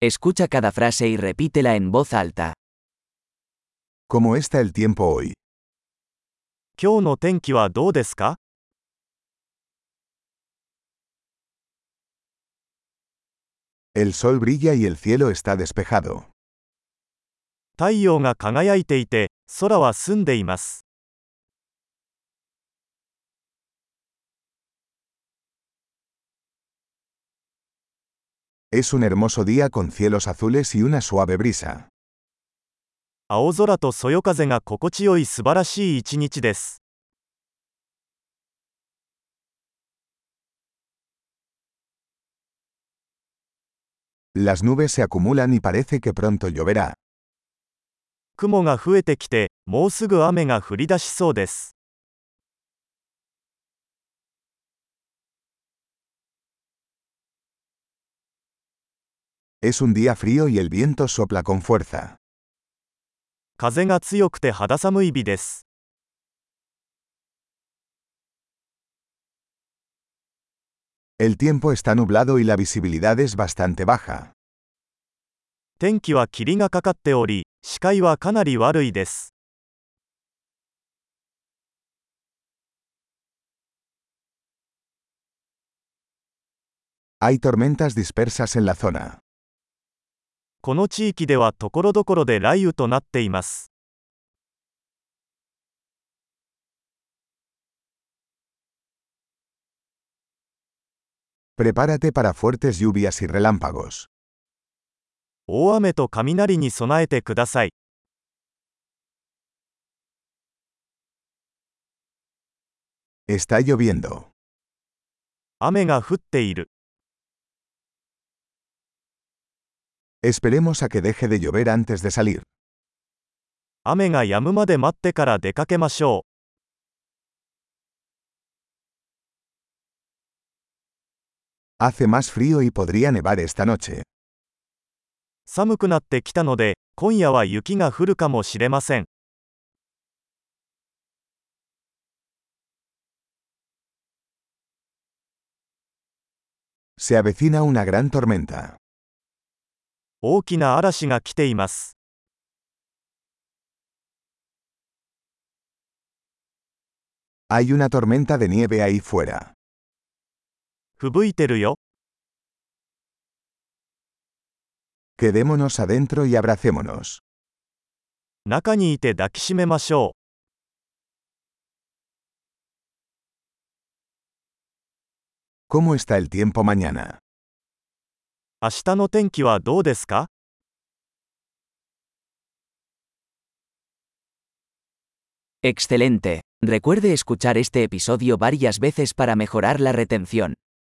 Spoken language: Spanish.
Escucha cada frase y repítela en voz alta. ¿Cómo está el tiempo hoy? 今日の天気はどうですか？ El sol brilla y el cielo está despejado. 太陽が輝いていて、空は澄んでいます。 Es un hermoso día con cielos azules y una suave brisa. 青空とそよ風が心地よい素晴らしい一日です。 Las nubes se acumulan y parece que pronto lloverá. 雲が増えてきて、もうすぐ雨が降り出しそうです。 Es un día frío y el viento sopla con fuerza. 風が強くて肌寒い日です。 El tiempo está nublado y la visibilidad es bastante baja. 天気は霧がかかっており、視界はかなり悪いです。 Hay tormentas dispersas en la zona. この地域では所々で雷雨となっています。 Prepárate para fuertes lluvias y relámpagos. 大雨と雷に備えてください。 Está lloviendo. 雨が降っている。 Esperemos a que deje de llover antes de salir. 雨が止むまで待ってから出かけましょう。 Hace más frío y podría nevar esta noche. 寒くなってきたので、今夜は雪が降るかもしれません。 Se avecina una gran tormenta. 大きな嵐が来ています。 Hay una tormenta de nieve ahí fuera. 吹雪いてるよ。 Quedémonos adentro y abracémonos. 中にいて抱きしめましょう。 ¿Cómo está el tiempo mañana? 明日の天気はどうですか？ Excelente. Recuerde escuchar este episodio varias veces para mejorar la retención.